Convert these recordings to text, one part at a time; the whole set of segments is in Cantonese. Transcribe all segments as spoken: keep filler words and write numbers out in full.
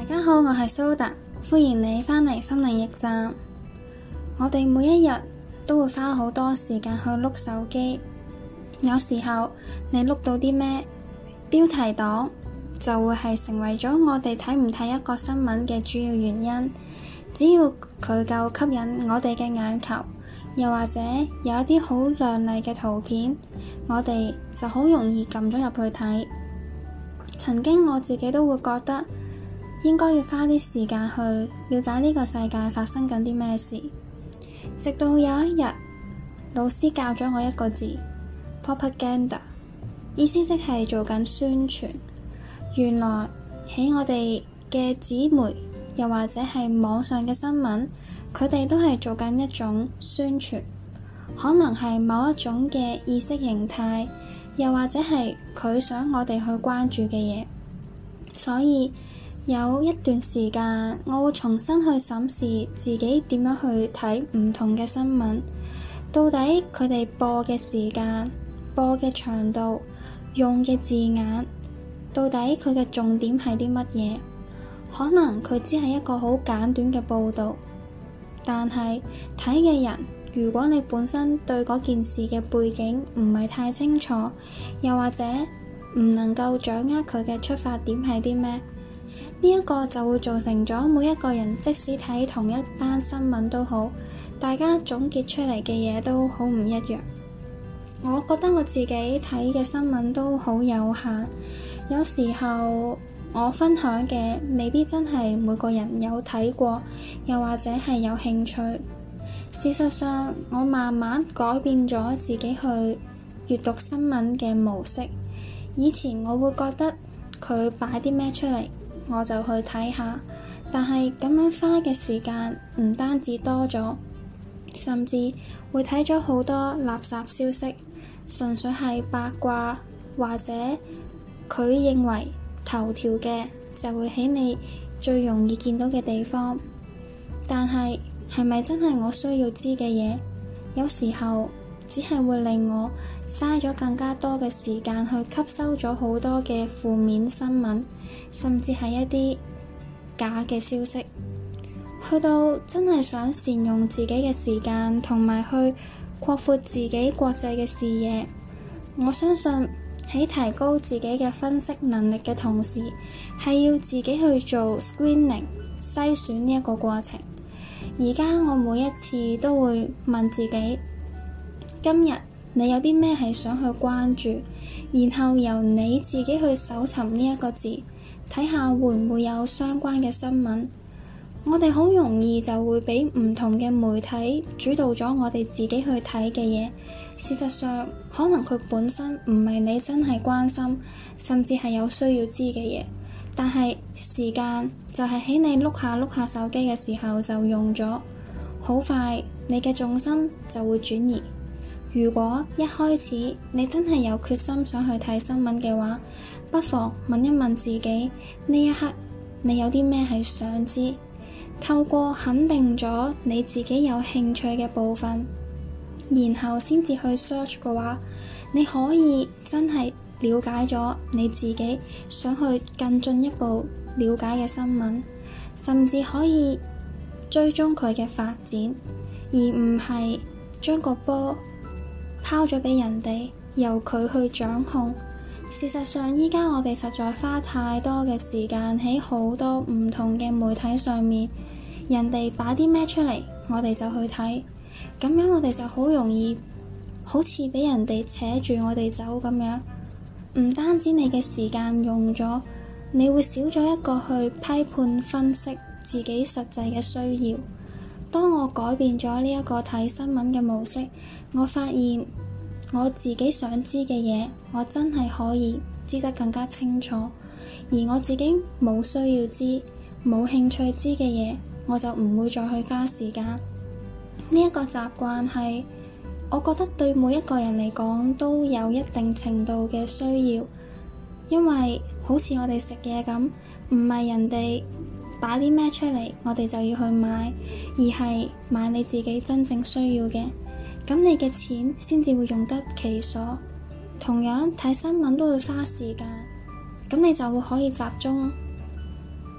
大家好，我係蘇達，歡迎你返嚟心靈驛站。我哋每一日都會花好多時間去碌手機，有時候你碌到啲咩標題黨，就會係成為咗我哋睇唔睇一個新聞嘅主要原因。只要佢夠吸引我哋嘅眼球，又或者有一啲好亮麗嘅圖片，我哋就好容易撳咗入去睇。曾經我自己都會覺得應該要花啲時間去了解呢個世界發生緊啲咩事，直到有一日老師教咗我一個字 propaganda， 意思即係做緊宣傳。原來喺我哋嘅紙媒又或者係網上嘅新聞，佢哋都係做緊一種宣傳，可能係某一種嘅意識形態，又或者係佢想我哋去關注嘅嘢。所以有一段時間我會重新去審視自己點樣去睇唔同嘅新聞，到底佢哋播嘅時間、播嘅長度、用嘅字眼，到底佢嘅重點係啲乜嘢？可能佢只係一個好簡短嘅報導，但係睇嘅人，如果你本身對嗰件事嘅背景唔係太清楚，又或者唔能夠掌握佢嘅出發點係啲咩，呢一個就會造成咗每一個人即使睇同一單新聞都好，大家總結出嚟嘅嘢都好唔一樣。我覺得我自己睇嘅新聞都好有限，有時候我分享嘅未必真係每個人有睇過，又或者係有興趣。事實上，我慢慢改變咗自己去閱讀新聞嘅模式。以前我會覺得佢擺啲咩出嚟，我就去睇下，但係咁樣花嘅時間唔單止多咗，甚至會睇咗好多垃圾消息，純粹係八卦，或者佢認為頭條嘅就會喺你最容易見到嘅地方。但係係咪真係我需要知嘅嘢？有時候只係會令我嘥咗更加多嘅時間去吸收咗好多嘅負面新聞，甚至係一啲假嘅消息。去到真係想善用自己嘅時間，同埋去擴闊自己國際嘅視野。我相信喺提高自己嘅分析能力嘅同時，係要自己去做 screening 篩選呢一個過程。而家我每一次都會問自己，今日你有啲咩係想去關注，然後由你自己去搜尋呢一個字，睇下會唔會有相關嘅新聞。我哋好容易就會俾唔同嘅媒體主導咗我哋自己去睇嘅嘢，事實上可能佢本身唔係你真係關心，甚至係有需要知嘅嘢，但係時間就係喺你碌下碌下手機嘅時候就用咗，好快你嘅重心就會轉移。如果一開始你真係有決心想去睇新聞嘅話，不妨問一問自己，呢一刻你有啲咩係想知？透過肯定咗你自己有興趣嘅部分，然後先至去 search 嘅話，你可以真係了解咗你自己想去更進一步了解嘅新聞，甚至可以追蹤佢嘅發展，而唔係將個波拋咗俾人哋，由佢去掌控。事實上，依家我哋實在花太多嘅時間喺好多唔同嘅媒體上面，人哋擺啲咩出嚟，我哋就去睇，咁樣我哋就好容易好似俾人哋扯住我哋走咁樣。唔單止你嘅時間用咗，你會少咗一個去批判分析自己實際嘅需要。當我改變咗呢一個睇新聞嘅模式，我發現我自己想知嘅嘢，我真係可以知得更加清楚，而我自己冇需要知、冇興趣知嘅嘢，我就唔會再去花時間。呢一個習慣係我覺得對每一個人嚟講都有一定程度嘅需要，因為好似我哋食嘢咁，唔係人哋擺啲咩出嚟，我哋就要去買，而係買你自己真正需要嘅，咁你嘅錢先至會用得其所。同樣睇新聞都會花時間，咁你就會可以集中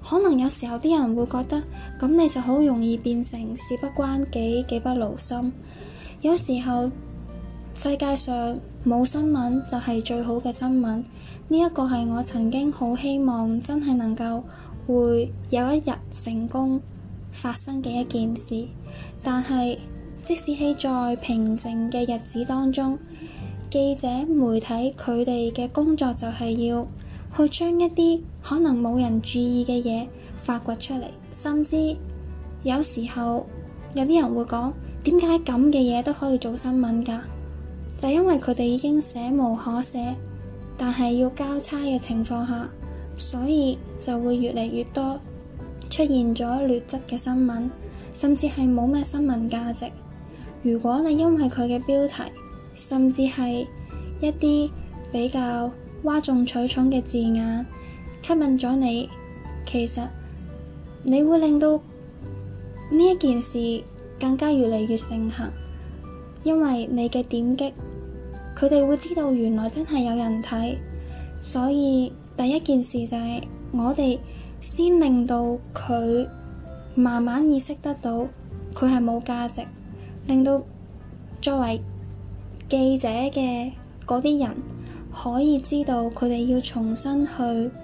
可能有時候啲人會覺得咁你就好容易變成事不關己，己不勞心。有時候世界上冇新聞就係最好嘅新聞，呢一個係我曾經好希望真係能夠會有一日成功發生嘅一件事。但係即使喺在平靜嘅日子當中，記者媒體佢哋嘅工作就係要去將一啲可能冇人注意嘅嘢發掘出嚟，甚至有時候有啲人會講，點解咁嘅嘢都可以做新聞㗎？就因為佢哋已經寫無可寫，但係要交叉嘅情況下，所以就會越嚟越多出現咗劣質嘅新聞，甚至係冇咩新聞價值。如果你因為佢嘅標題，甚至係一啲比較嘩眾取寵嘅字眼吸引咗你，其實你會令到呢一件事更加越嚟越盛行，因為你嘅點擊，佢哋會知道原來真係有人睇。所以第一件事就係我哋先令到佢慢慢意識得到佢係冇價值，令到作為記者嘅嗰啲人可以知道佢哋要重新去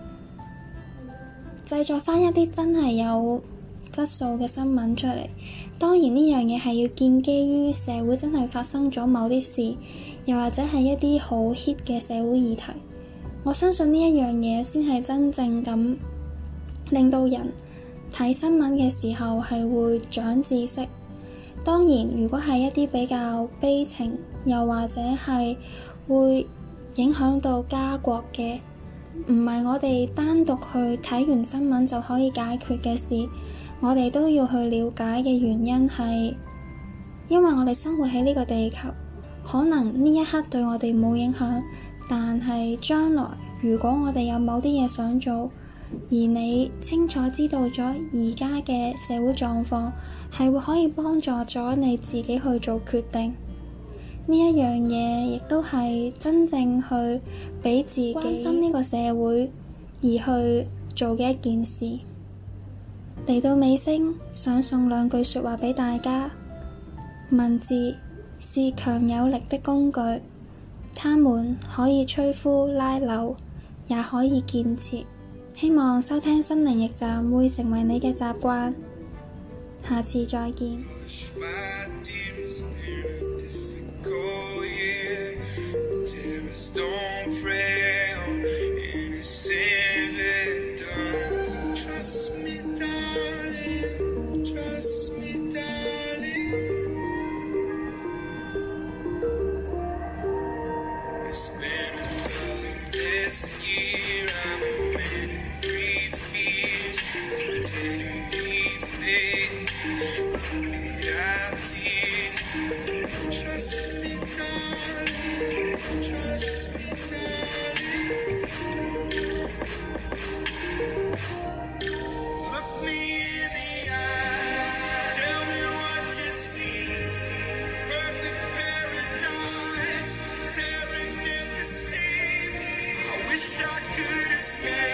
製作翻一啲真係有質素嘅新聞出嚟。當然呢樣嘢係要建基於社會真係發生咗某啲事，又或者係一啲好 hit 嘅社會議題。我相信呢一樣嘢先係真正咁令到人睇新聞嘅時候係會長知識。當然如果係一啲比較悲情，又或者係會影響到家國嘅，唔係我哋單獨去睇完新聞就可以解決嘅事。我哋都要去了解嘅原因係因為我哋生活喺呢個地球，可能呢一刻對我哋冇影響，但係將來如果我哋有某啲嘢想做，而你清楚知道咗而家嘅社會狀況，係會可以幫助咗你自己去做決定。呢一樣嘢亦都係真正去俾自己關心呢個社會而去做嘅一件事。嚟到尾聲，想送兩句說話俾大家。文字是強有力的工具，它們可以摧枯拉朽，也可以建設。希望收聽心靈驛站會成為你嘅習慣。下次再見。 I could escape.